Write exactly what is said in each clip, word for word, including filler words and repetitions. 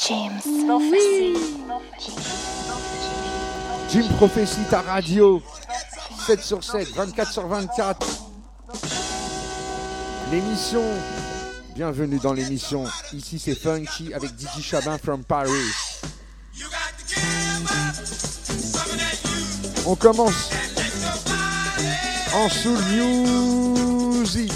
James Prophecy. Jim Prophecy, ta radio. sept sur sept, vingt-quatre sur vingt-quatre. L'émission. Bienvenue dans l'émission. Ici c'est Funky avec D J Chabin from Paris. On commence en soul music.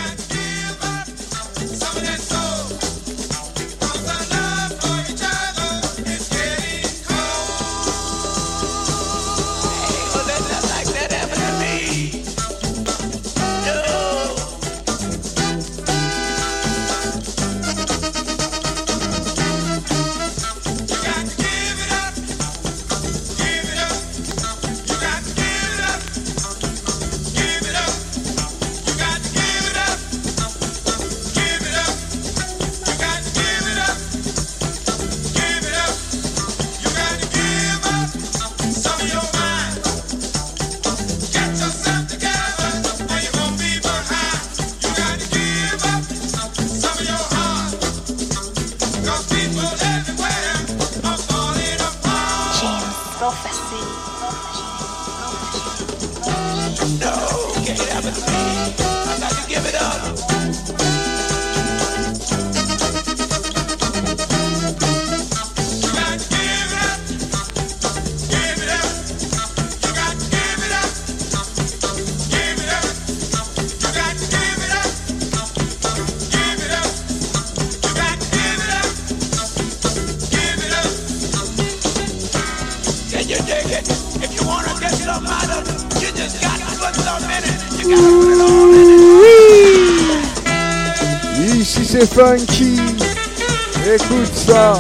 Ici c'est Funky, écoute ça.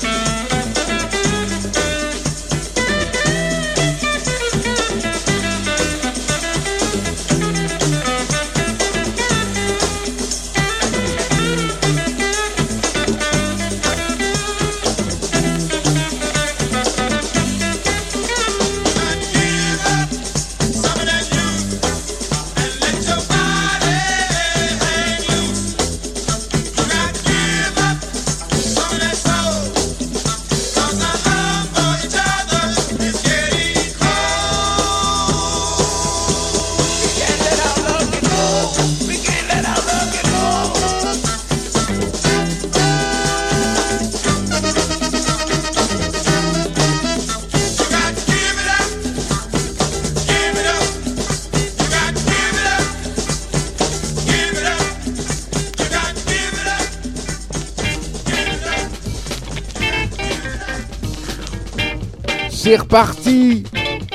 C'est reparti.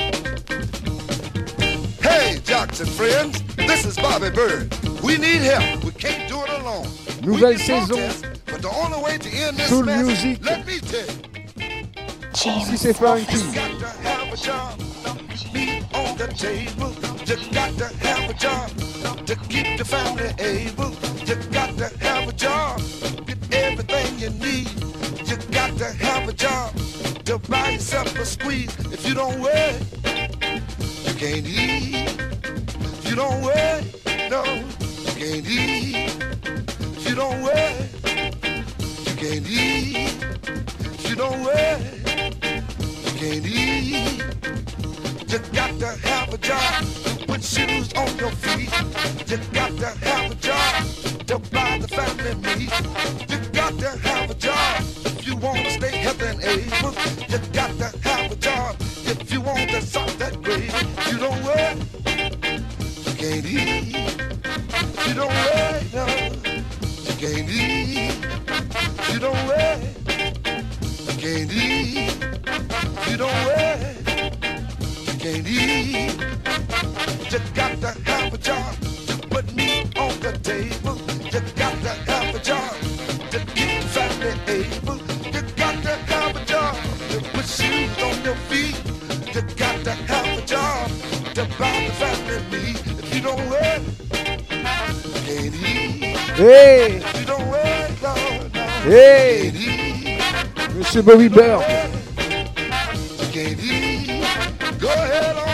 Hey, jocks and friends, this is Bobby Bird. We need help. We can't do it alone. Nouvelle saison. But the only way to end this Soul mess, music. let me tell you. Ici c'est Funky. You got to have a job, meat on the table. You got to have a job to keep the family able. You got to have a job, get everything you need. You got to have a job to buy yourself a squeeze. If you don't work, you can't eat. If you don't work, no, you can't eat. If you don't work, you can't eat. If you don't work, you can't eat. You got to have a job to put shoes on your feet. You got to have a job to buy the family meat. You got to have a job if you want to stay healthy and able. You got to have a job if you want to solve that grave. If you don't work, you can't eat. If you don't work, no, you can't eat. If you don't work, you can't eat. If you don't work, you can't eat. You got to have a job to put meat on the table. You got to have a job to keep the family able. You got to have a job to put shoes on your feet. You got to have a job to buy the family meat. If you don't work, you can't eat. Hey, If you don't work, no, no, hey, you can't eat. Monsieur Bobby Bird. You can't eat. Go ahead on.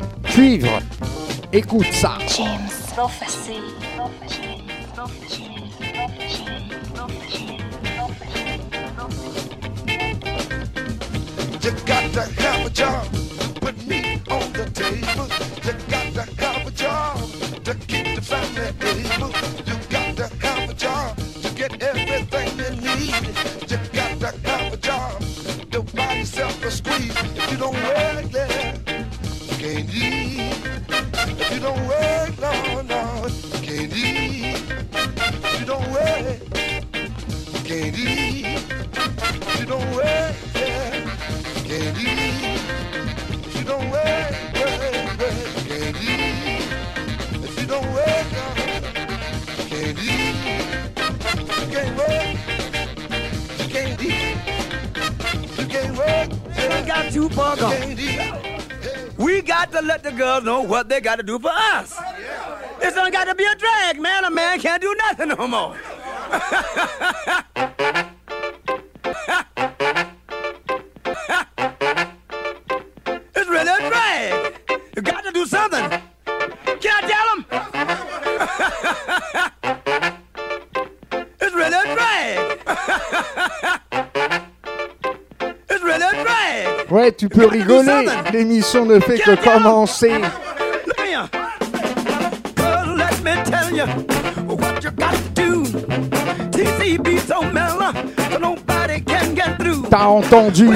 Cuivre, écoute ça. James Prophecy. Prophecy. Prophecy. You got to have a job, put meat on the table. You got to have a job to keep the family able. You got to have a job to get everything you need. You got to have a job to buy yourself a squeeze. If you don't work there, you can't eat. If you don't work, no, no, you can't eat. If you don't work, you can't eat. If you don't work, yeah. Can't eat. If you don't work, work, work, can't eat. If you don't work, can't eat. You can't work, you can't eat. You can't work, yeah. We got too far gone. We got to let the girls know what they got to do for us. This don't got to be a drag, man. A man can't do nothing no more. It's really a drag. You got to do something. Can I tell them? It's really a drag. It's really a drag. Ouais, tu peux rigoler. L'émission ne fait que commencer. Look here. Well, let me tell you what you got to do. T C B so mellow, so nobody can get through. T'as entendu?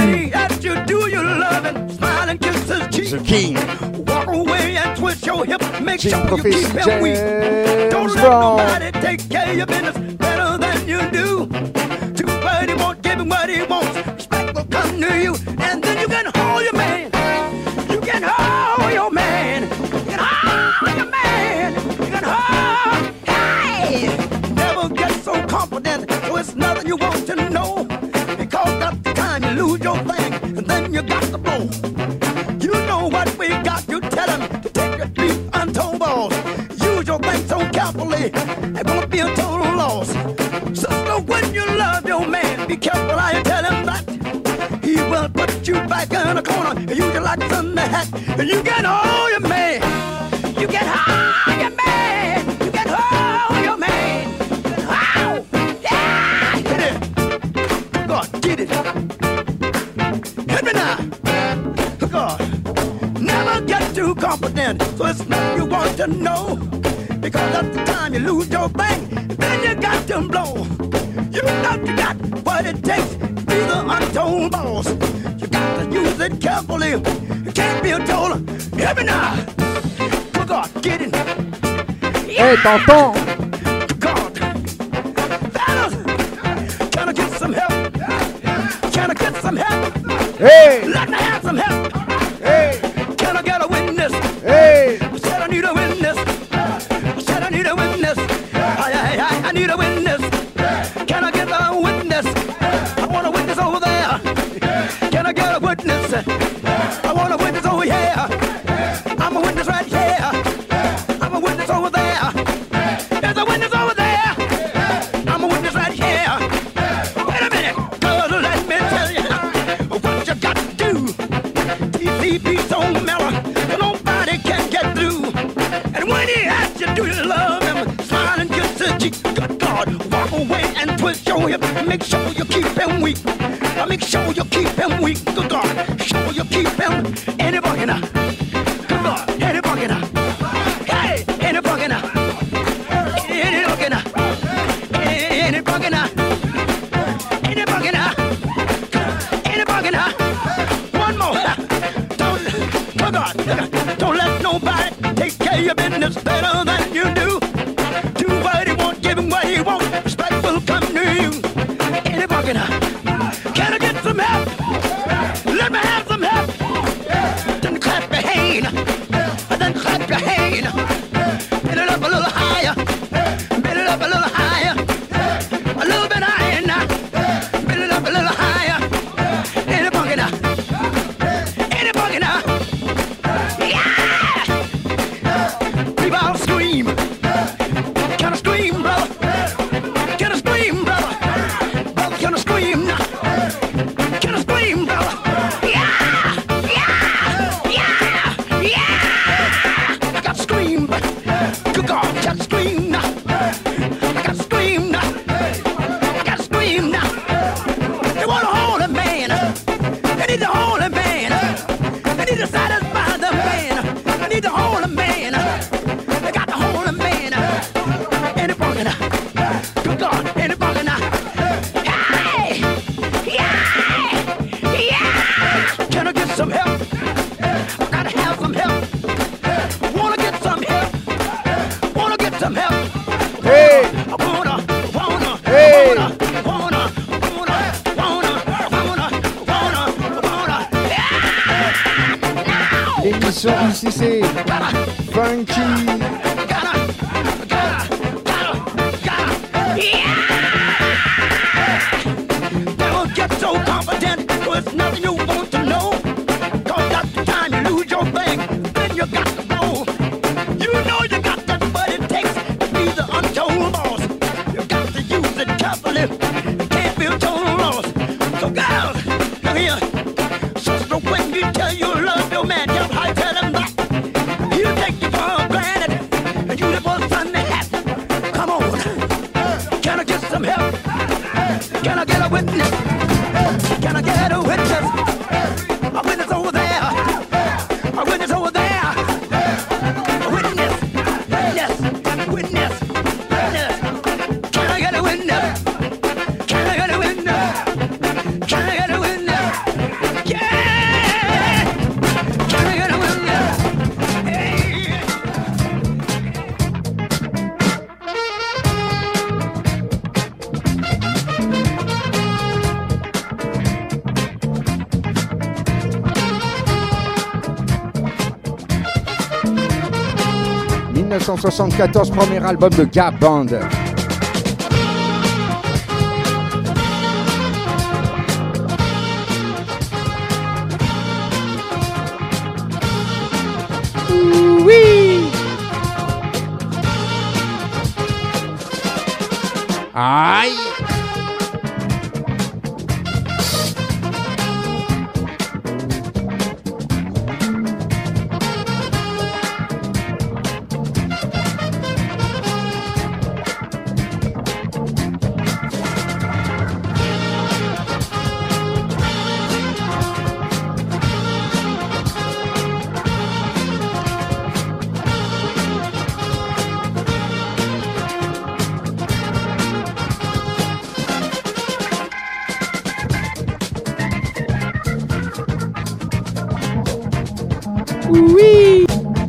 The King. Walk away and twist your hip. Make King sure you keep him weak. Don't let nobody take care of your business better than you do. Too bad he won't give him what he wants. Respect will come to you, and then you can hold your man. You can hold your man. You can hold your man. You can hold. Hey, never get so confident, so it's nothing you want to know. Because that's the time you lose your thing, and then you got to blow. You know what we got, you tell him to take your three untold balls. Use your thing so carefully, it won't be a total loss. Sister, when you love your man, be careful how you tell him that. He will put you back in a corner and use you like sun the hat. And you can hold your man. You can hold your man. You can hold your man. You can hold. Yeah! Hit it. God, get it. Hit me now. God. Never get too confident, so it's nothing you want to know. Because at the time you lose your thing, then you got to blow. You know you got what it takes to be the untold boss. You got to use it carefully. You can't be a total. Hear me now. Good God, get it. Hey, t'entends? God. Fellas, can I get some help? Can I get some help? Hey! Let me have some help. Hey! Can I get a witness? Hey! I said I need a witness. I said I need a witness. I, I, I, I need a witness. Can I get a witness? I want a witness over there. Can I get a witness? I want a witness over here. I'm a witness right here. I'm a witness over there. There's a witness over there. I'm a witness right here. Wait a minute. Cause let me tell you what you got to do. T C B so mellow, nobody can get through. And when he asks you, do you love him? Smile and kiss his cheek. Good God, walk away and twist your hip. Make sure you keep him weak. Make sure you keep him weak. Good God, sure you keep him. Any bucket now. Good God, any bucket now. Hey, any bucket now. Any bucket now. Any bucket now. Any bucket now. Any bucket now. One more. Don't, good God, don't let nobody take care of your business better than you do. Do what he wants, give him what he wants. Respect will come to you. Any bucket now. Can I get some help? Let me have some help. Then clap your hand. Then clap your hand. Bend it up a little higher. Bend it up a little higher. A little bit higher now. Bend it up a little higher. Any bucket now. Any bucket now. Yeah! People all scream. l'émission, ici c'est Funky. Don't get so confident, there's nothing you want to know. Cause that's the time you lose your thing, then you got to blow. You know you got that, but it takes to be the untold boss. You got to use it carefully, you can't be a total loss. So girls, now here, sister, when you tell you love your man, just how you tell him that. He'll take you for granted, and you the boss on the hat. Come on, can I get some help? Can I get a witness? Can I get a witness? A witness over there. A witness over there. A witness. Witness. Witness. Witness. Can I get a witness? Can I get a witness? Can I get a witness? Yeah! Can I get a witness? Hey! dix-neuf cent soixante-quatorze, premier album de Gap Band. Oui. Aïe. Oui.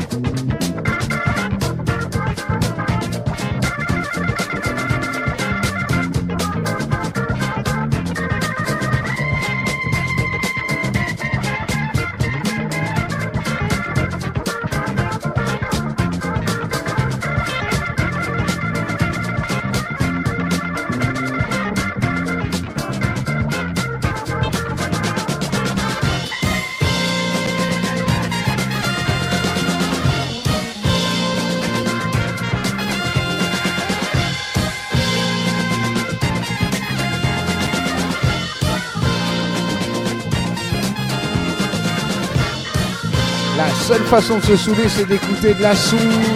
La seule façon de se saouler, c'est d'écouter de la soul.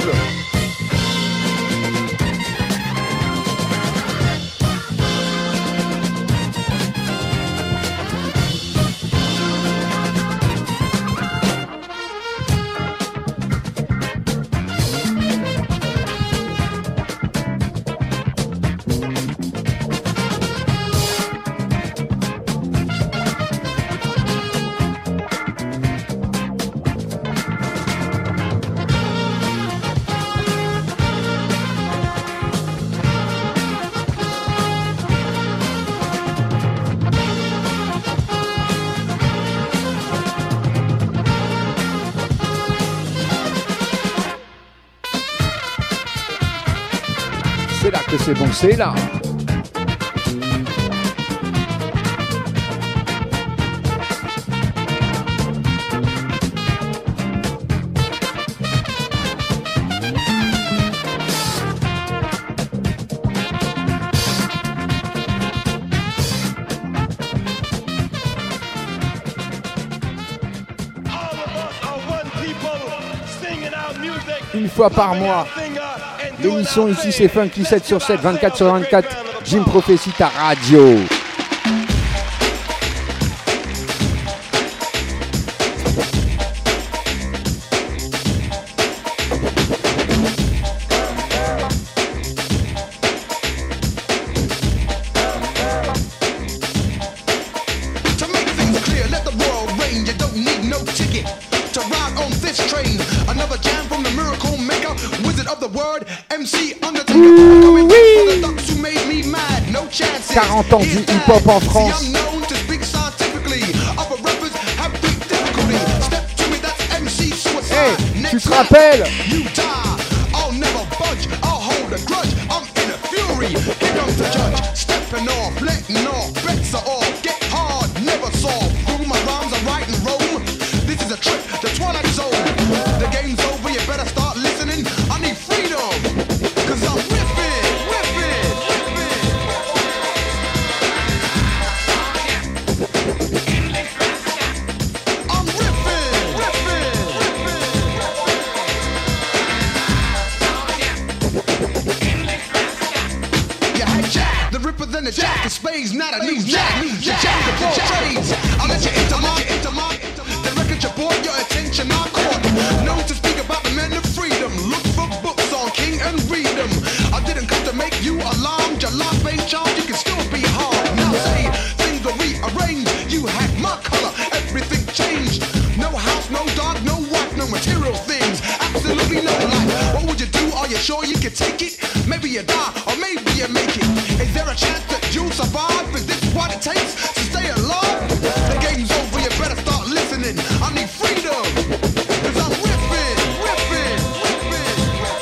C'est là que c'est bon, c'est là. Une fois par mois, l'émission ici c'est Funky sept sur sept, vingt-quatre sur vingt-quatre, Jim Prophecy ta radio. quarante ans du hip-hop en France. Tu te rappelles? You die, I'll never budge, I'll hold a grudge, I'm in a fury, here comes the judge, stepping off, letting off, bets are off, get hard, never solve, through my rhymes I write and roam, this is a trip, the Twilight Zone, the game's over, you better start listening, I need freedom, cause I'm ripping, ripping, ripping. I'm ripping, ripping, ripping. You had Jack, the Ripper than the Jack of Spades, not a new Jack, new Jack, Jack of all trades. I'll let you into my, into my, the record you bought, your attention I caught. Known to speak about the men of freedom. Look for books on King and read them. I didn't come to make you alarmed. Your life ain't charmed, you can still be hard. Now say, things are rearranged. You had my color, everything changed. No house, no dog, no wife, no material things. Absolutely no life. What would you do? Are you sure you could take it? Maybe you die, or maybe you make it. Is there a chance that you'll survive? Is this what it takes to stay alive? The game's over, you better start listening. I need freedom, cause I'm ripping, ripping, ripping.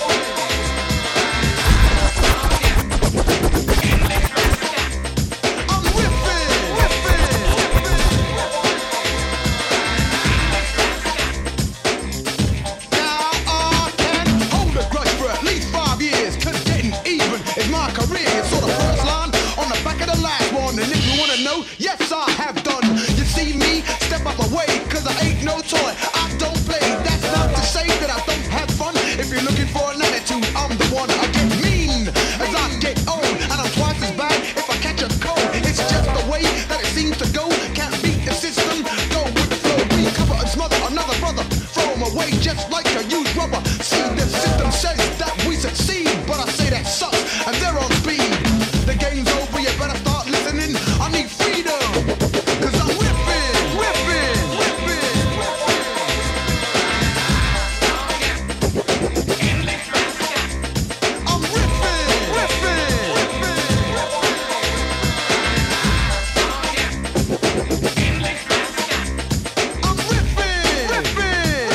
I'm ripping, ripping, Now I can hold a grudge for at least five years, cause getting even is my career. It's sort of first line on the back of the last one. And if you wanna know, yes I have done. You see me, step out my way, cause I ain't no toy, I don't play. That's not to say that I don't have fun. If you're looking for an attitude, I'm the one. I get mean as I get old, and I'm twice as bad if I catch a cold. It's just the way that it seems to go. Can't beat the system, go with the flow. We cover and smother another brother, throw him away just like a used rubber. See, the system says that we succeed, but I say that sucks, and they're on speed. The game's over, you better start listening. I need freedom, cause I'm ripping, ripping, ripping. I'm ripping, ripping, ripping. I'm ripping, ripping,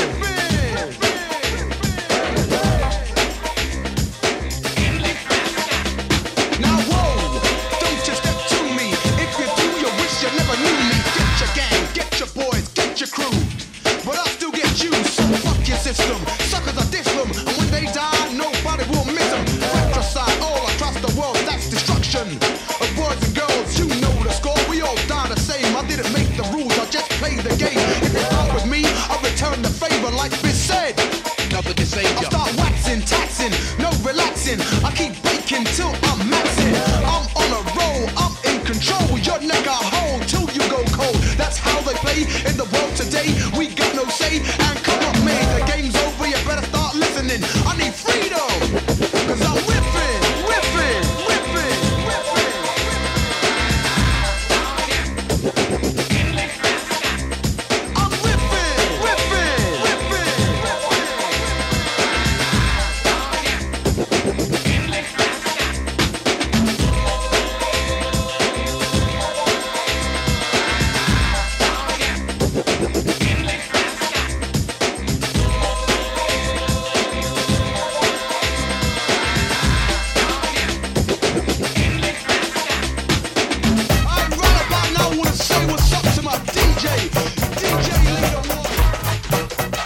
ripping. Now whoa, don't you step to me. If you do, you wish you never knew me. Get your gang, get your boys, get your crew. But I'll still get you, so fuck your system. Suckers are diss them, and when they die, nobody will miss them. Fratricide all across the world, that's destruction of boys and girls. You know the score, we all die the same. I didn't make the rules, I just played the game. If you start with me, I'll return the favor like Biz said. Nothing can save I'll ya. start waxing, taxing, no relaxing. I keep baking till I'm maxing. I'm on a roll, I'm in control. Your neck I hold till you go cold. That's how they play in the world today. We got no say and come up made. The game's over, you better start listening. I need freedom, cause I'm ripping, ripping, ripping, ripping. I'm ripping, ripping, ripping, I'm right about now, wanna say what's up to my D J. D J Leader One.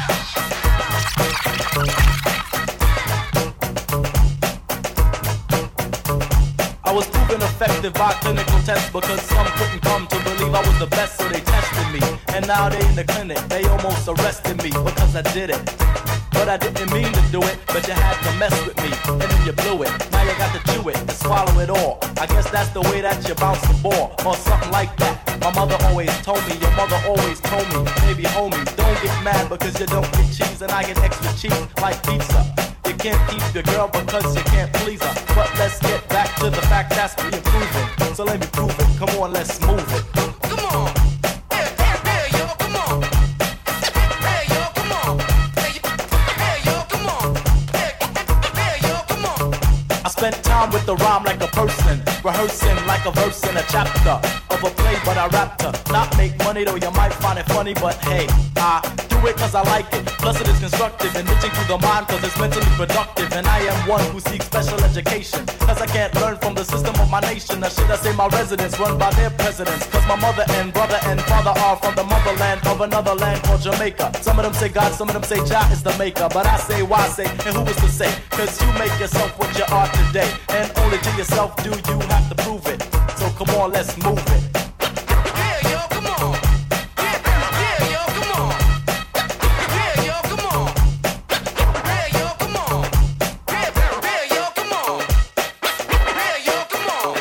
I was proven effective by clinical tests because some couldn't come to believe I was the best, so they tested me. And now they in the clinic, they almost arrested me because I did it. But I didn't mean to do it, but you had to mess with me, and then you blew it. Now you got to chew it and swallow it all. I guess that's the way that you bounce the ball, or something like that. My mother always told me, your mother always told me, baby homie, don't get mad because you don't get cheese, and I get extra cheese like pizza. You can't keep your girl because you can't please her. But let's get back to the fact that's we improving. So let me prove it. Come on, let's move it. Come on. Hey, hey, hey, yo, come on. Hey, yo, come on. Hey, hey, yo, come on. Hey, hey, yo, come on. I spent time with the rhyme like a person, rehearsing like a verse in a chapter of a play, but I rapped her. Not make money though, you might find it funny, but hey, I do do it cause I like it. Plus it is constructive, enriching to the mind cause it's mentally productive. And I am one who seeks special education, cause I can't learn from the system of my nation. Or should I say my residents run by their presidents, cause my mother and brother and father are from the motherland of another land called Jamaica. Some of them say God, some of them say Jah is the maker, but I say why say, and who is to say? Cause you make yourself what you are today, and only to yourself do you have to prove it. So come on, let's move it. Yeah, yo, come on. Yeah, yeah, yo, come on. Yeah, yo, come on. Yeah, yo, come on. Yeah, yeah, yo, come on. Yeah, yo, come on.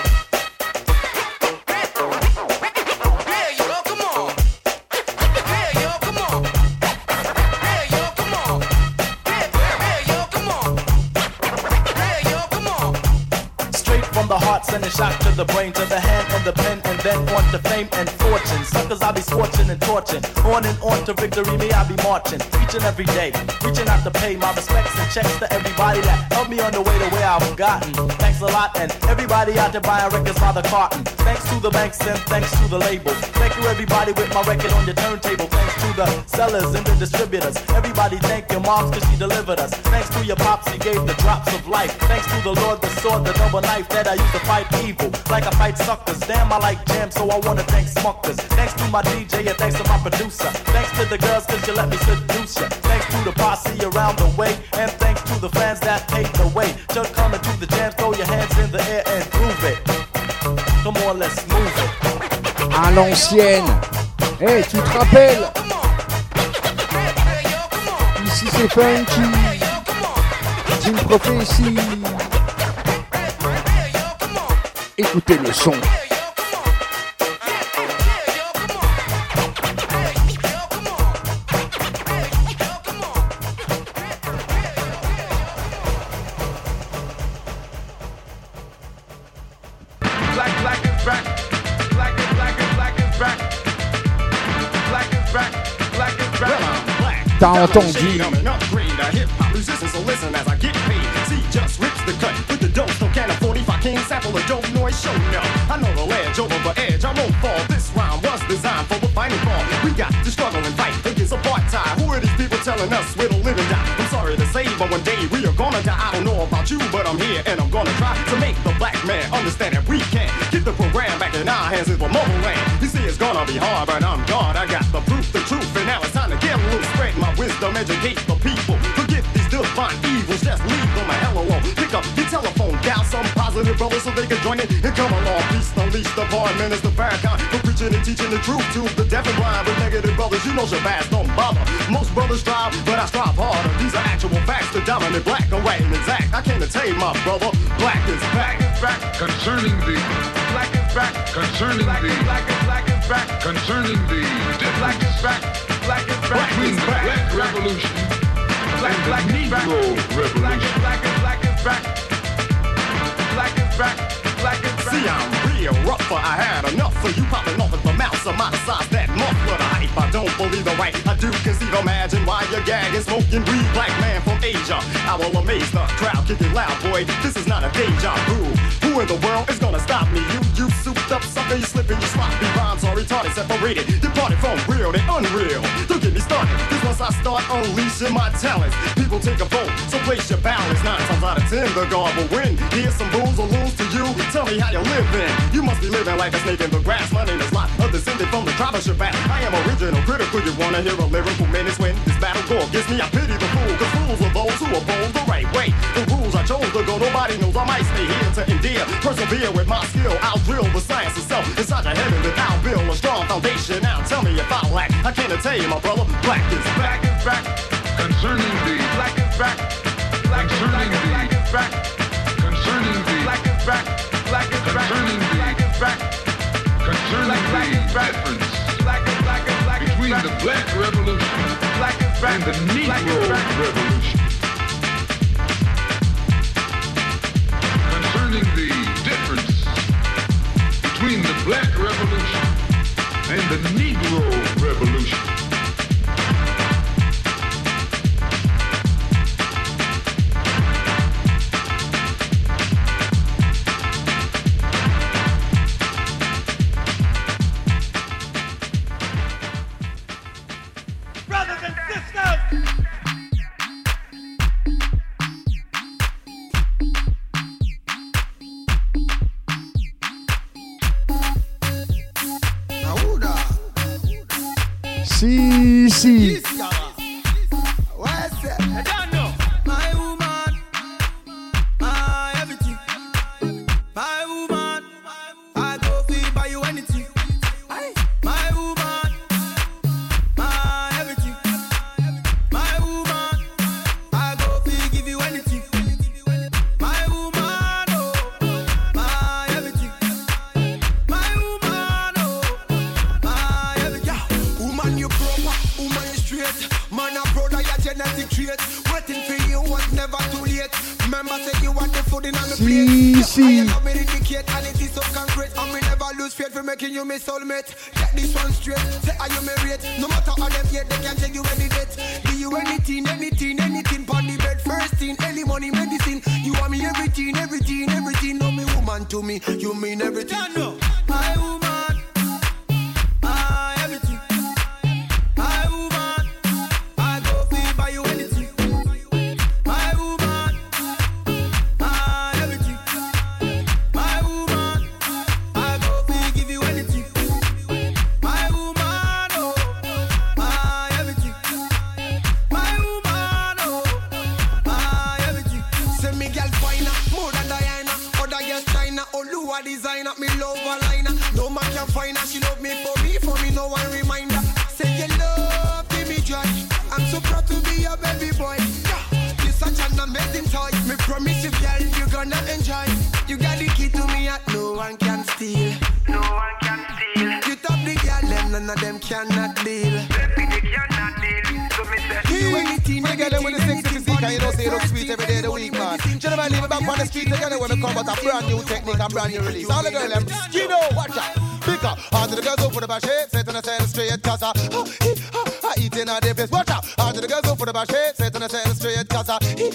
Yeah, yo, come on. Yeah, yo, come on. Yeah, yo, come on. Yeah, yo, come on. Yeah, yo, come on. Straight from the heart, sending shock to the brain, to the hand and the pen, and then on to fame and fortune. Suckers I be scorching and torching, on and on to victory, me I be marching, each and every day, reaching out to pay my respects and checks to everybody that helped me on the way to where I've gotten. Thanks a lot, and everybody out there buying records by the carton. Thanks to the banks and thanks to the label. Thank you everybody with my record on your turntable. Thanks to the sellers and the distributors. Everybody thank your moms cause she delivered us. Thanks to your pops, he gave the drops of life. Thanks to the Lord, the sword, the double knife that I use to fight evil, like I fight suckers. Damn, I like jam, so I wanna thank Smuckers. Thanks to my D J and thanks to my producer. Thanks to the girls cause you let me seduce ya. Thanks to the posse around the way, and thanks to the fans that paved the way. Just coming to the jam, throw your hands in the air and prove it. Come on, let's move it. À l'ancienne. Eh, hey, tu te rappelles? Ici c'est Funky. Jim Prophecy. Écoutez le son. T'as entendu? Sample a dope noise show now. I know the ledge over the edge. I won't fall. This round was designed for the fighting ball. We got to struggle and fight against apartheid. Who are these people telling us we're the living die? I'm sorry to say, but one day we are gonna die. I don't know about you, but I'm here and I'm gonna try to make the black man understand that we can get the program back in our hands. It's the motherland. You see, it's gonna be hard, but I'm God. I got the proof, the truth, and now it's time to get loose. Spread my wisdom, educate the people. Forget these divine evils, just leave them a hell alone. Pick up your telephone, dial some positive brothers so they can join it and come along. Peace, unleash the bar, Minister Farrakhan for preaching and teaching the truth to the deaf and blind. But negative brothers, you know Shabazz don't bother. Most brothers strive, but I strive harder. These are actual facts, the dominant black and white and exact. I can't attain my brother, black is back. Concerning the black is back. Concerning the black is black is back. Concerning the black is back. Black is back. Between the Black Revolution and the Negro Revolution. Black is black is black is back. Black is back. Black is back. See, I'm real rougher. I had enough of you popping off at the mouth. Some out of size that muffler the hype. I don't believe the right. I do conceive. Imagine why you're gagging, smoking weed. Black man from Asia. I will amaze the crowd. Kick it loud, boy. This is not a deja vu. Who in the world is gonna stop me? You, you souped up sucker. You slipping, you sloppy rhymes are retarded, separated. Departed from real to unreal. Don't get me started. Cause once I start unleashing my talents, people take a vote. So place your balance. Nine times out of ten, the God will win. Here's some booze or lose to you. Tell me how you living. You must be living like a snake in the grass. My name is Lot, a descendant from the tribe of Shabazz. I am original, critical. You wanna hear a lyrical menace when this battle go against me? I pity the fool, cause fools are those who oppose the right way. The rules I chose to go, nobody knows I might stay here to endear. Persevere with my skill, I'll drill the science itself inside your head, and then I'll build a strong foundation. Now tell me if I lack, I can't tell you, my brother. Black is back is back. Concerning the black is back. Black is back. Black is back. Concerning the black is back. Black is back. Concerning the black is back. Concerning the difference between the Black Revolution and the Negro Revolution. Concerning the difference between the Black Revolution and the Negro Revolution. Brothers and Si, si. My woman, my everything. My woman, I go feel buy you anything. My woman, my everything. My woman, I go feel give you anything. My woman, oh, my everything. My woman, oh, my everything. Woman, you proper, woman, you straight. Man, a brother, your genetic trait. Waiting for you was never too late. Remember, say you want the food in on the Si, plate. si. I love me indicate, and it is so concrete. And me never lose faith for making you my soulmate. Get this one straight. Say, are you married? No matter how them yet, they can take you any date. Do you anything, anything, anything? Pon the bed, first thing, any money, medicine. You want me everything, everything, everything. No, me woman to me, you mean everything. My woman, my everything. My woman, I go feel buy you anything. My woman, my everything. My woman, I go feel give you anything. My woman, oh, my everything. My woman, oh, my everything. Say me girl finer, more than Diana. Other girls China, Oluwa designer. Me love her liner. No man can find her. She love me for me, for me no one reminder. Say you love, give me joy. I'm so proud to be your baby boy. Yeah, you're such an amazing toy. Me promise you, girl, you're gonna enjoy. You got the key to me that no one can steal. No one can steal. You top the girl, them none of them cannot deal. Baby, they cannot deal. So me say, you anything, We get them with the sexy physique and you know say you look sweet every day of the week, man. Gentlemen, leave it back on the street together when we come out a brand new technique and brand new release. All the girls, them, Skino, watch out. Pick up, all the girls go for the bash shape, set on the side straight, cause I, I eating at the place, watch out. All the girls go for the bash shape, set on the side straight, cause I,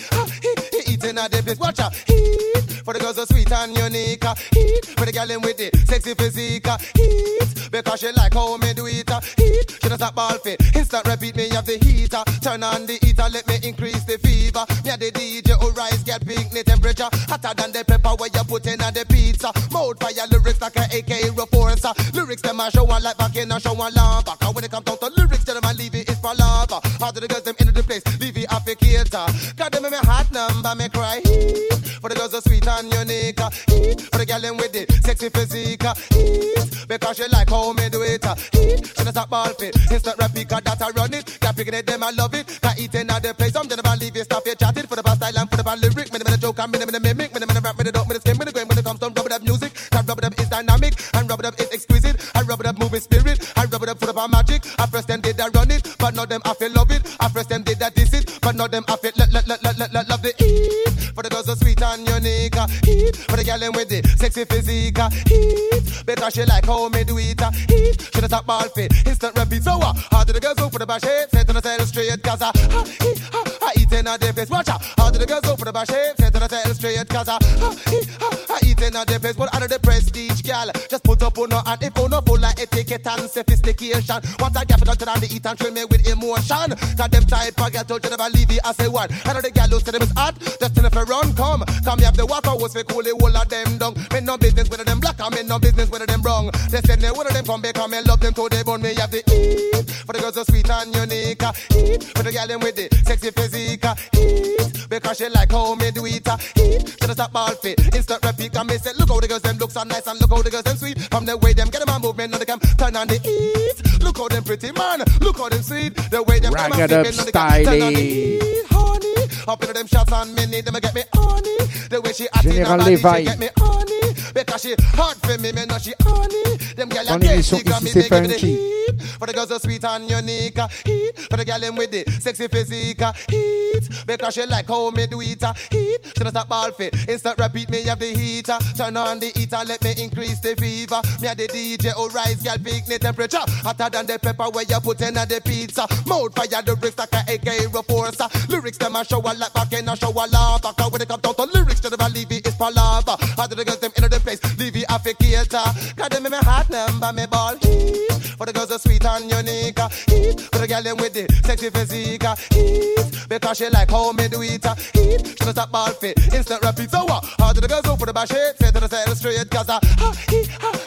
eating at the place, watch out. For the girls so sweet and unique, heat. For the girl in with the sexy physique, heat. Because she like how me do it, heat. She don't stop ball fit, instant repeat me have the heater. Turn on the heater, let me increase the fever. Me and the D J who rise, get picnic temperature. Hotter than the pepper where you put in on the pizza. Mouth fire lyrics like a A K reforcer. Lyrics them a show one like back in a show one lava. Cause when it comes down to lyrics, tell them I leave it is for lava. How do the girls them into the place, leave it applicator. Got them in my heart number, me cry. For the girls so sweet and unique, for the girl them with the sexy physique, because she like how me do it. She don't stop ball fit, instant replica that I run it. Got picking it, them I love it. Got eating at the place, I'm gonna leave it, stop it, chatting for the past style and for the bad lyric. Me the joke, I'm me the mimic, me the rap, me the dope, me the skin, me the grain. When it comes to rub it up music, and rub it up is dynamic, and rub it up is exquisite. I rub it up moving spirit, I rub it up for the magic. I first them did I run it, but not them I feel love it. I first them did I diss it, but not them I feel let let let let let let love the eat. For the girls so sweet and unique, heat. For the girl them with the sexy physique, heat. Because she like how me do it, heat. She don't stop ball fit, instant repeat. So what? How do the girls go for the bash shape? Set on the side straight, cause I, I, I eat in a day place. Watch out. How do the girls go for the bash shape? Set on the side straight, cause I, I, I eat in a day place. But out of the prestige, girl, just put up on her and if on her full like etiquette and sophistication. What I get for to the eat and train me with emotion. Cause them type of girl told you never leave it, I say what? Out of the girl who said them is hot, just in if I run, come. Come you have the water was for cool, the whole of them down. Me no business with them black, I mean no business with them wrong. They said they one of them come back and me love them till they burn me have the eat. For the girls so sweet and unique, eat. For the girl them with the sexy physique, eat. Because she like how me do it, eat. She don't stop ball fit, instant repeat and me say look how the girls them look so nice and look how the girls them sweet. From the way them get them a movement, now they can turn on the eat. Look how them pretty man, look how them sweet. The way them Rag it up, styling. Honey, up into them shots and me need them to get me honey. The way she acting Général her body, Lévy. she get me honey. Because she hard for me, me know she honey. Them girl Dans a take l'émission she got Ici me, c'est they give me the funky. heat. For the girls so sweet and unique, heat. For the girl them with the sexy physique, heat. Because she like how me do it, heat. She don't stop ball fit, instant repeat me have the heater. Turn on the heater, let me increase the fever. Me a the D J who rise, girl picnic temperature. Hotter than the pepper where you put in at the pizza. Mouth fire the bricks like a A K reforcer. Lyrics them a show a like back in a show a lava. Cause when it comes down to lyrics, to never leave it is palava. How do the girls them into the place, leave it afficator. Cause them in my heart number, me ball heat. For the girls so sweet and unique, heat. For the girl them with the sexy physique, heat. Because she like how me do it, heat. She don't stop ball fit, instant repeat. So what? How do the girls go for the bash shape? Say to the side straight, cause I, I, I, I eat in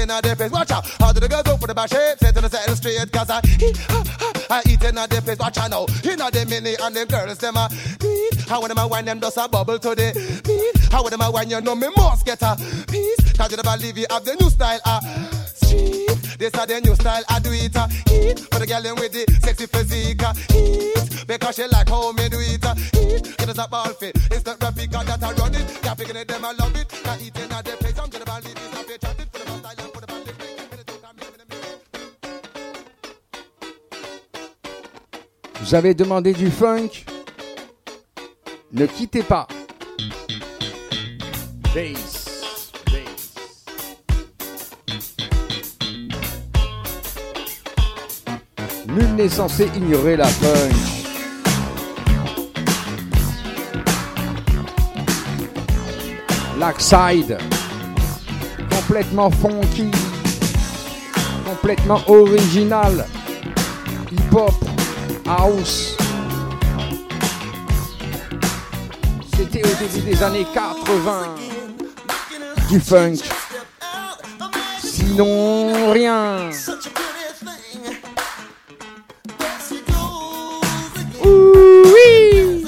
eating at the place. Watch out. How do the girls go for the back shape? Set to the setting straight. Cause I eat, I eating at the place. Watch out now. You know the mini and the girls, them a beat. How when them a wine, them does a bubble to the beat. How when them a wine, you know me must get a piece. Cause you never leave you have the new style. Uh, street. This are the new style. I do it. Uh, eat. For the girl in with the sexy physique. Uh, eat. Because she like how me do it. Uh, eat. It is a ball fit. It's not rapid cause that I run it. Yeah, picking it, them I love it. Now eating at the place. I'm gonna believe it. I'm gonna chat it for the style and for the band. Vous avez demandé du funk? Ne quittez pas. Bass. Bass. Nul n'est censé ignorer la funk. Lackside. Complètement funky. Complètement original. Hip-hop. House. C'était au début des années quatre-vingts. Du funk. Sinon, rien. Ouh, oui.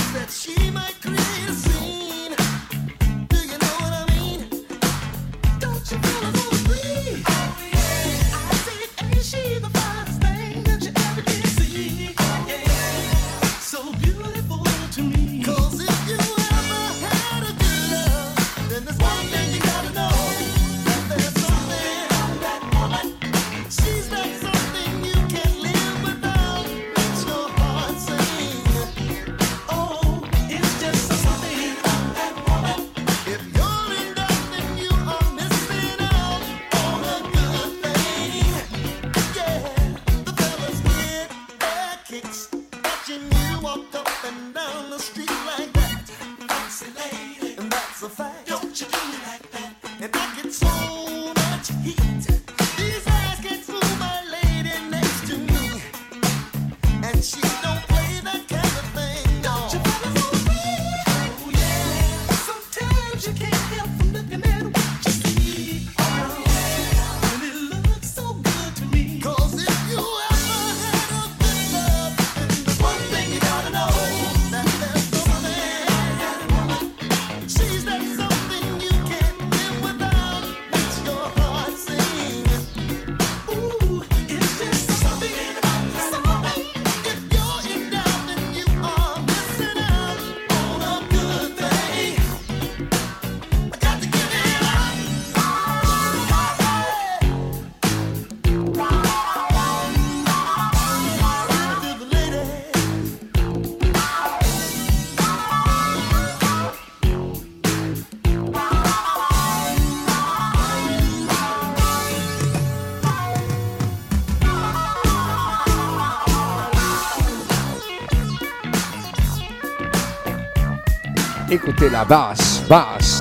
Écoutez la basse, basse.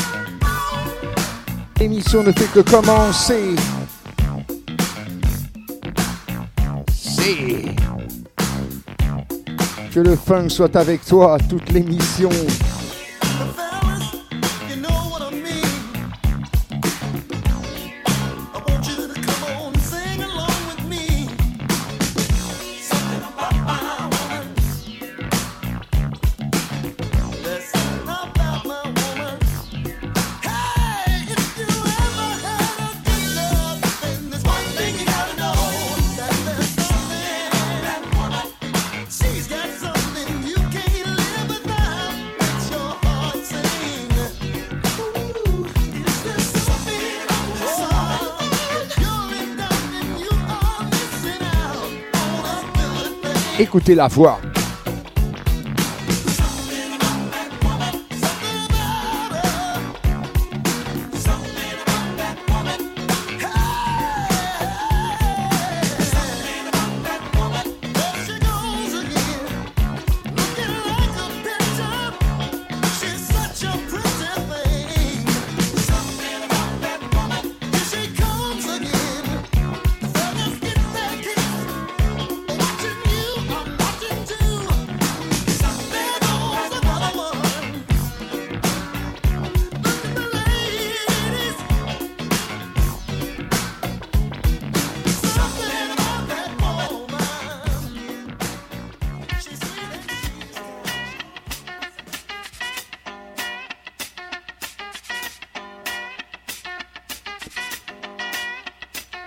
L'émission ne fait que commencer. C'est que le funk soit avec toi toute l'émission. Écoutez la voix. Watching you, I'm watching too.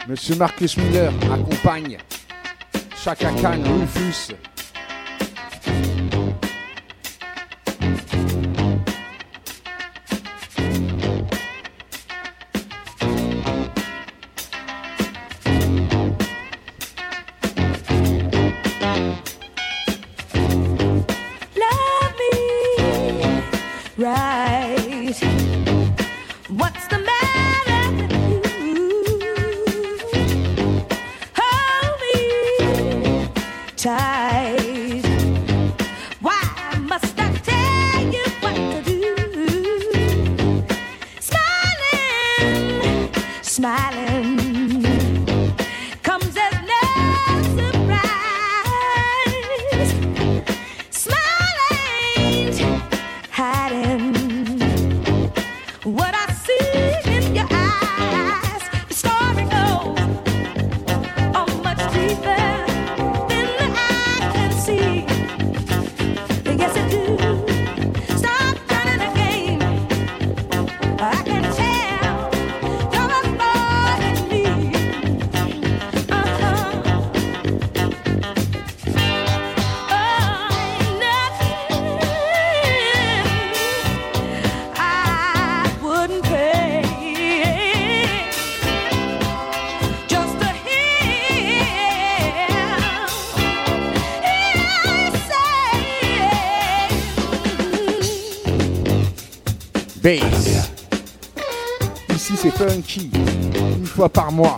Monsieur Marcus Miller accompagne Chaka Khan, Rufus. Right. What's the matter with you? Hold me tight. Why must I tell you what to do? Smiling, smiling comes as no surprise. Smiling, hiding what I see in your eyes. The story goes on much deeper than the eye can see. Yes, it do. Stop running the game. I can tell you're a boy in me. Uh-huh. Oh, nothing I wouldn't pay just to hear you say. Bass. Ici c'est funky. Une fois par mois.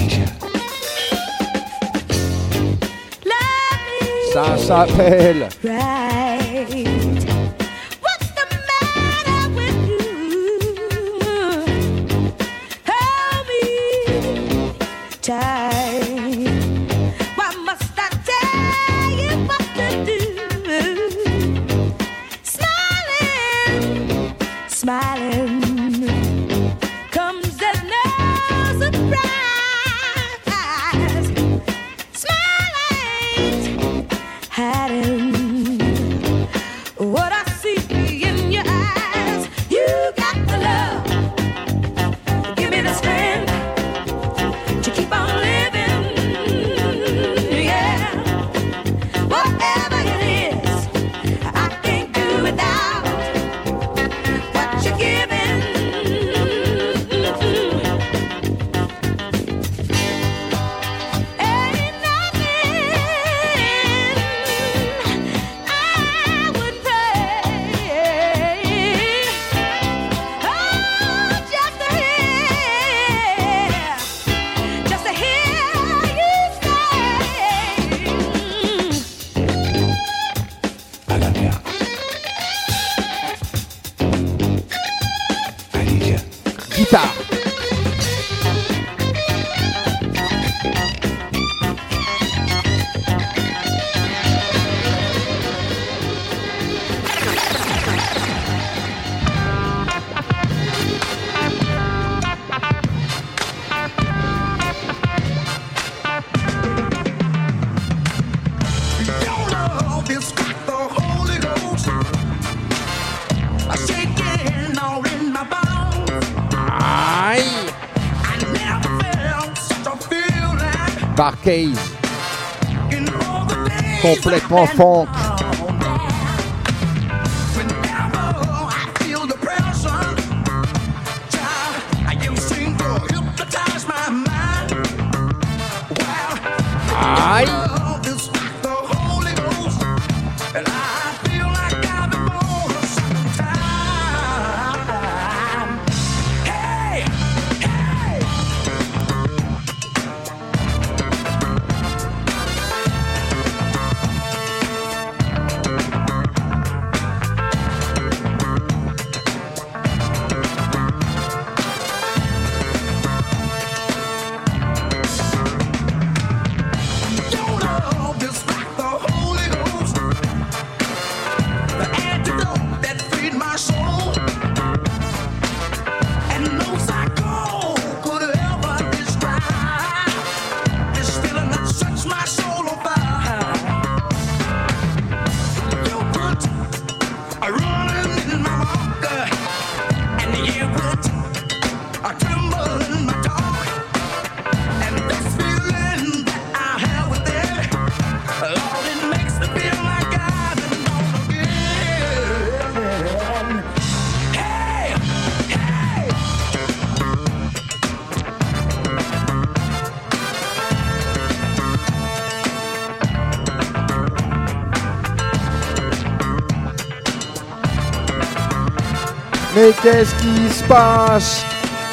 Ça s'appelle Right. What's the matter with you? Hold me tight. Why must I tell you what to do? Smiling, smiling comes as no surprise. Smiling, hiding what I see in your eyes. You got the love, give me the strength to keep on living. Yeah, whatever it is, I can't do without what you're giving. Ain't nothing I would pay. Oh, just to hear, just to hear you guitare. Your love is like the Holy Ghost. I shake it all in my bones. Aïe. I never felt such a feeling Barcase. in all the days Complètement I've been funk. down. Whenever I feel depression, child, you seem to hypnotize my mind. Well, Aïe. love is like the Holy Ghost, and I feel like I've been born a second time. Hey, hey. Mais qu'est-ce qui se passe?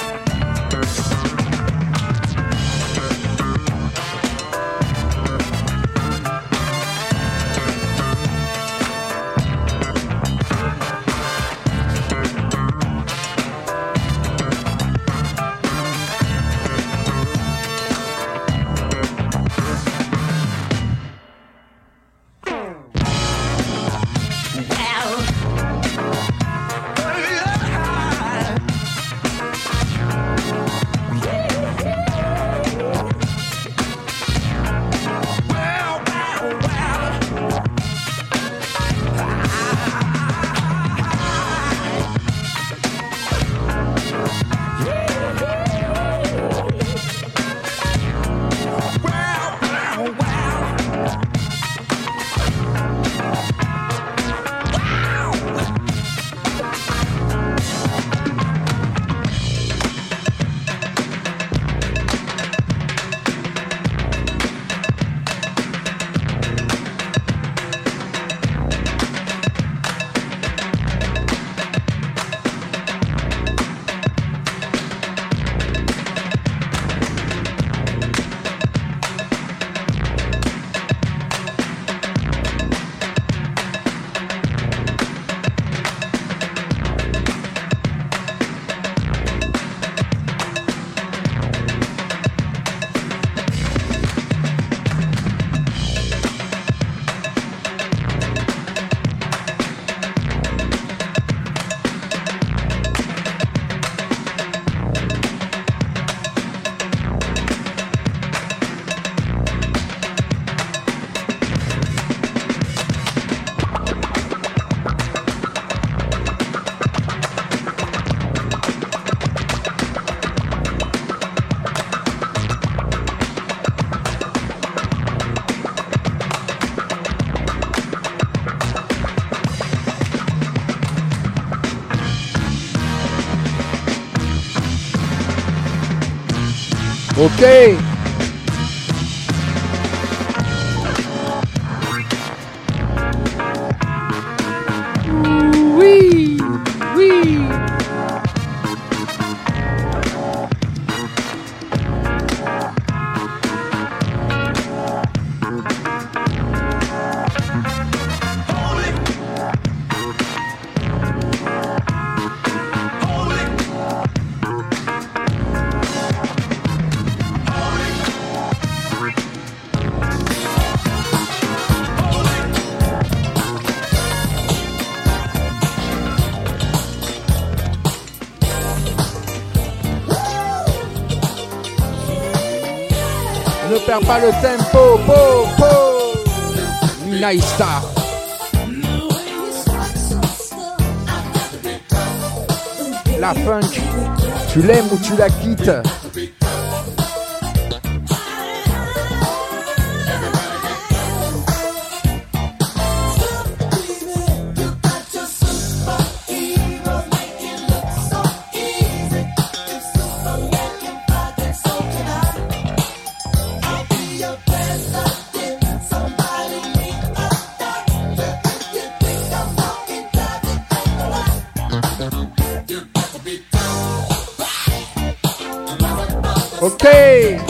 Ok. Oui, oui. Ne perds pas le tempo, po, po. Nice Star. La funk, tu l'aimes ou tu la quittes? Okay.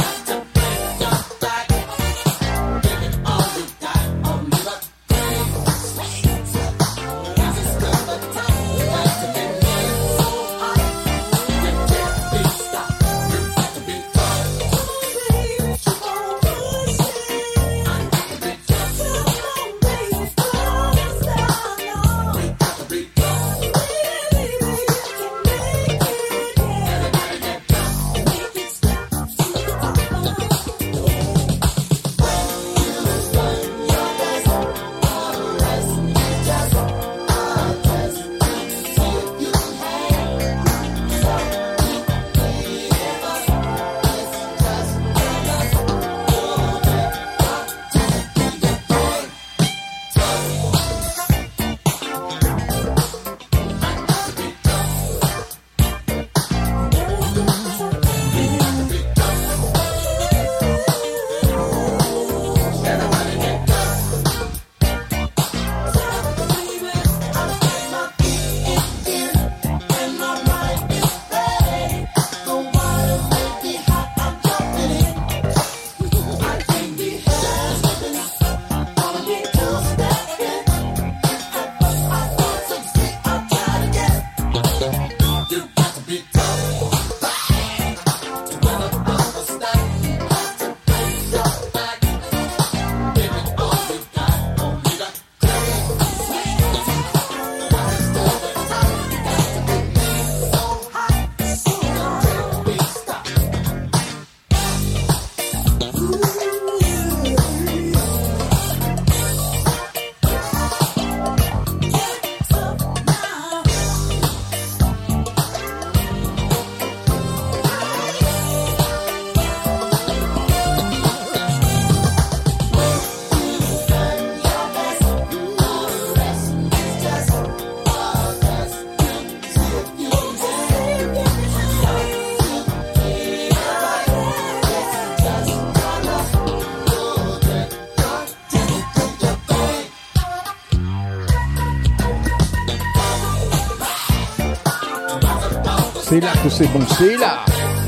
C'est là que c'est bon, c'est là.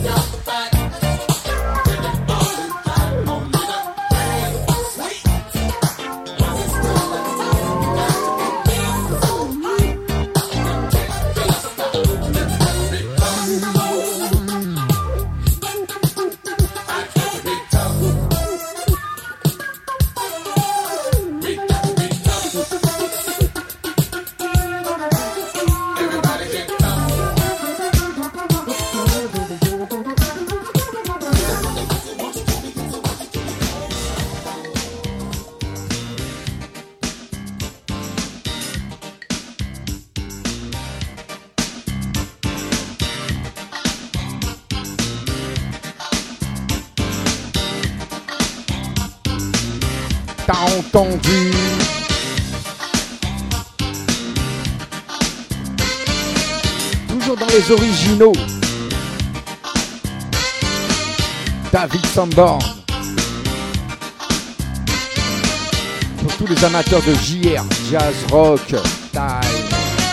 T'as entendu? Toujours dans les originaux. David Sanborn. Pour tous les amateurs de J R, jazz, rock, time.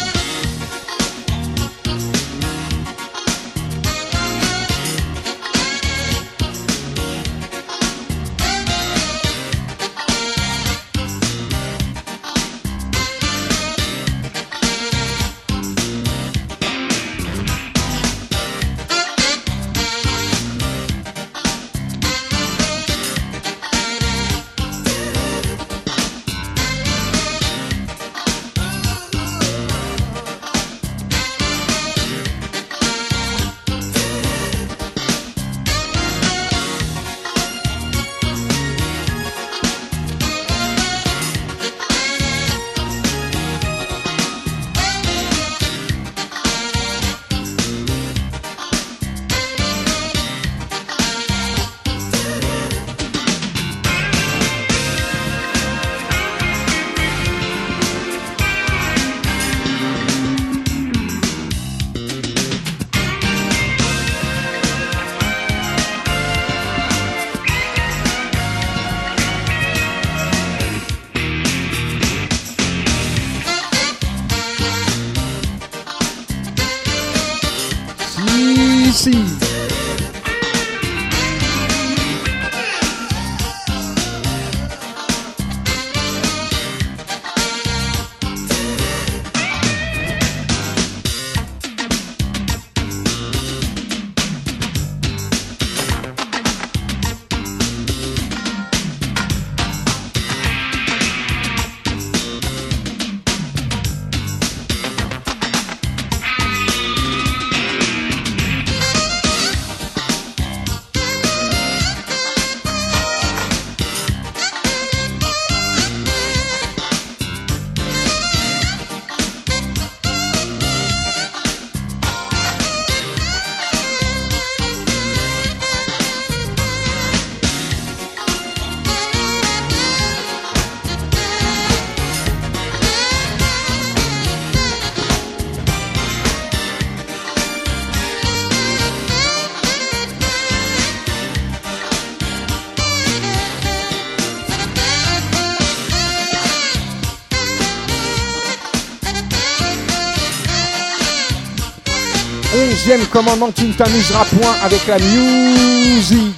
Onzième commandement, tu ne t'amuseras point avec la musique.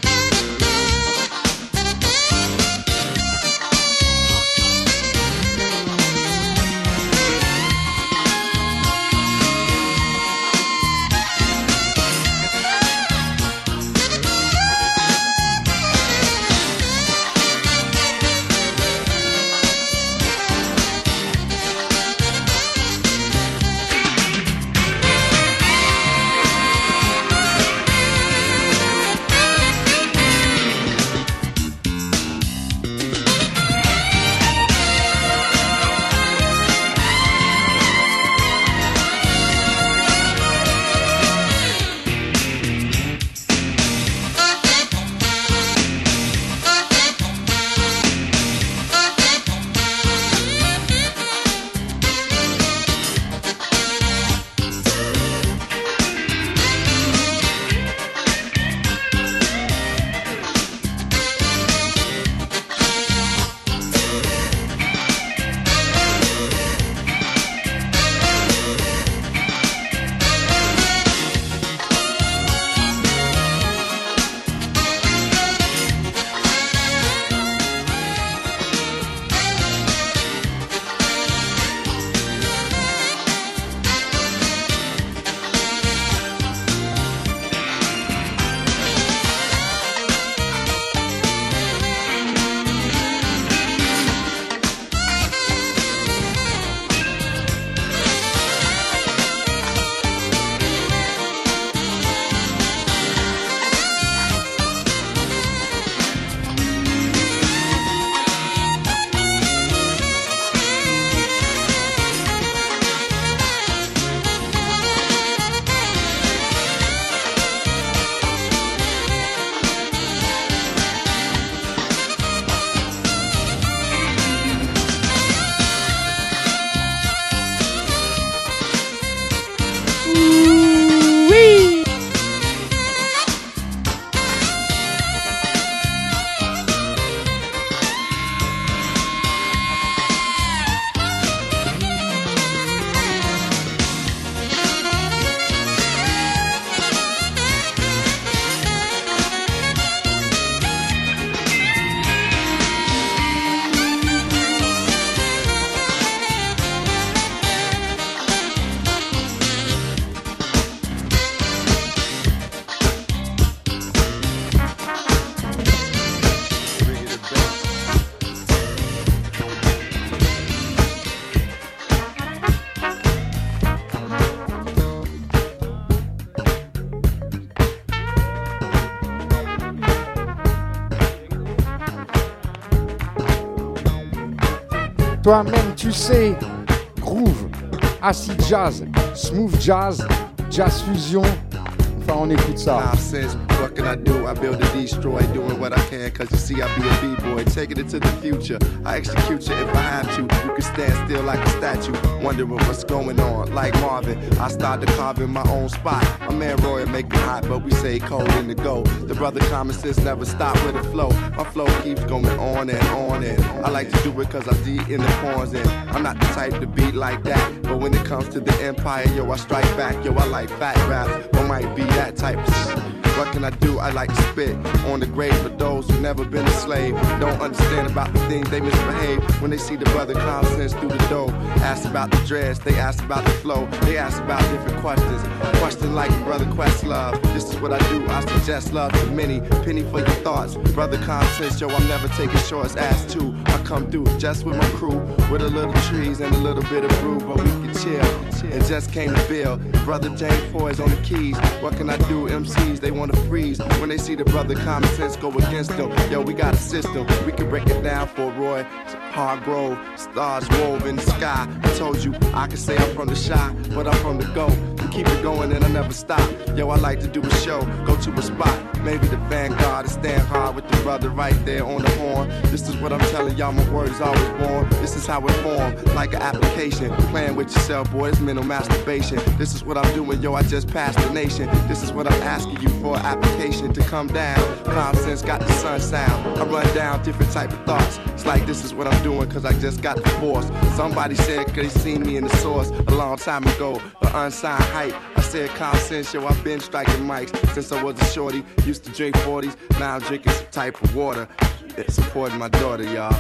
toi-même, tu sais. Groove, acid jazz, smooth jazz, jazz fusion. Enfin, on écoute ça. Five cents, what can I do? I build and destroy, doing what I can, cause you see I be a B-boy, taking it to the future. I execute you if I have to. You can stand still like a statue, wondering what's going on. Like Marvin, I started carving my own spot. My man Roy make it hot, but we say cold in the go. The brother common sense never stop with the flow. My flow keeps going on and on and I like to do it cause I D in the horns and I'm not the type to beat like that. But when it comes to the empire, yo, I strike back. Yo, I like fat raps, or might be that type of shit. What can I do? I like to spit on the grave for those who never been a slave. Don't understand about the things they misbehave when they see the brother common sense through the door. Ask about the dreads, they ask about the flow, they ask about different questions. Question like brother Questlove. This is what I do. I suggest love to many. Penny for your thoughts, brother common sense. Yo, I'm never taking shorts. Ass two, I come through just with my crew, with a little trees and a little bit of brew, but we can chill. It just came to Bill. Brother James Foy's on the keys. What can I do? M Cs they want to freeze when they see the brother common sense go against them. Yo, we got a system. We can break it down for Roy Hargrove. Stars wove in the sky. I told you I can say I'm from the shy, but I'm from the go. We keep it going and I never stop. Yo, I like to do a show, go to a spot. Maybe the Vanguard and stand hard with the brother right there on the horn. This is what I'm telling y'all, my word is always born. This is how it formed, like an application. Playing with yourself, boy, it's mental masturbation. This is what I'm doing, yo, I just passed the nation. This is what I'm asking you for, application to come down. Common sense got the sun sound. I run down different type of thoughts. It's like this is what I'm doing, cause I just got the force. Somebody said cause they seen me in the source a long time ago, but unsigned hype. I said common sense, yo, I've been striking mics since I was a shorty. Used to drink forties, now I'm drinking some type of water. Supporting my daughter, y'all.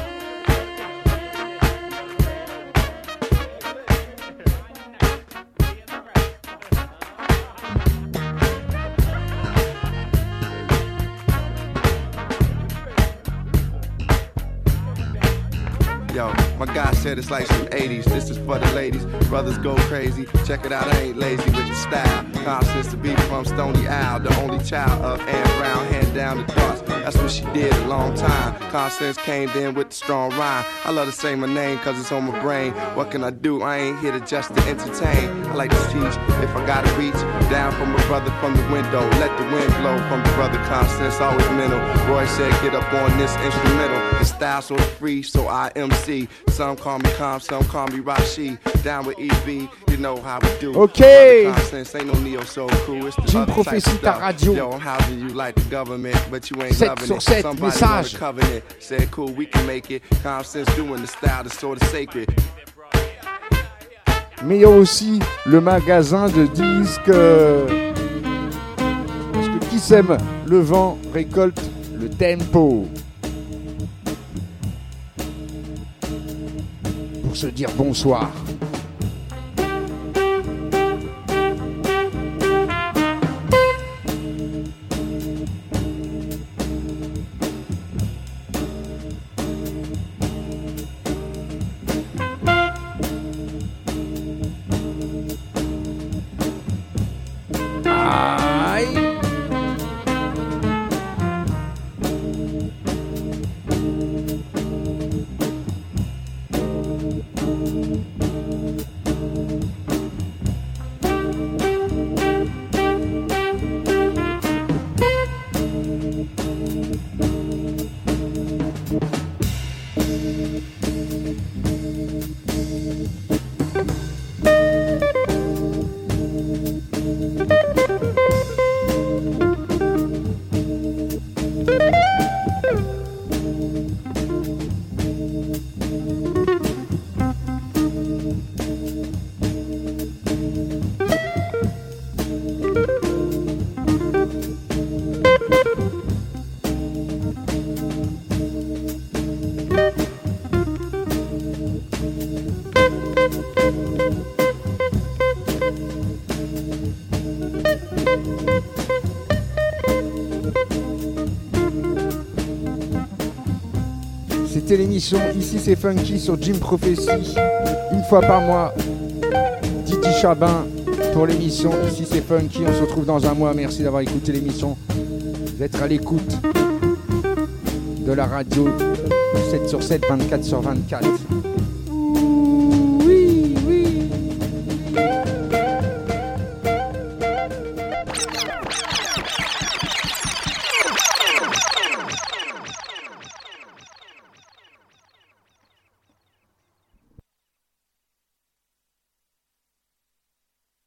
Yo, my guy said it's like some eighties. This is for the ladies. Brothers go crazy. Check it out, I ain't lazy with the style. Constance to be from Stony Isle, the only child of Anne Brown, hand down the thoughts. That's what she did a long time. Constance came in with the strong rhyme. I love to say my name cause it's on my brain. What can I do? I ain't here to just to entertain. I like to teach if I gotta reach down from a brother from the window. Let the wind blow from the brother Constance, always mental. Roy said get up on this instrumental. The style so free, so I M C. Some call me Calm, some call me Rashi. Down with E V, you know how we do. Okay. Ain't no neo soul crew. It's the Jim other type of Prophecy, ta stuff. radio. Yo, I'm housing you like the government, but you ain't sept loving sur it. sept, Somebody message. on the covenant said cool, we can make it. Common sense doing the style that's sort of sacred. Mais il y a aussi le magasin de disques. euh, Parce que qui sème le vent récolte le tempo. Pour se dire bonsoir. C'était l'émission Ici c'est Funky sur Jim Prophecy. Une fois par mois, Didi Chabin pour l'émission Ici c'est Funky. On se retrouve dans un mois. Merci d'avoir écouté l'émission, d'être à l'écoute de la radio sept sur sept, vingt-quatre sur vingt-quatre.